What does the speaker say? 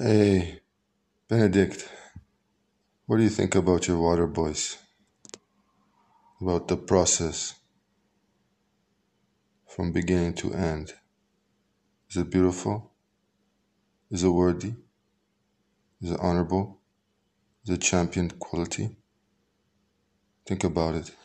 Hey, Benedict, what do you think about your water boys? About the process from beginning to end? Is it beautiful? Is it worthy? Is it honorable? Is it championed quality? Think about it.